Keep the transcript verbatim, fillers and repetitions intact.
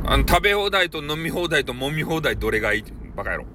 あの、食べ放題と飲み放題と揉み放題どれがいいバカ野郎。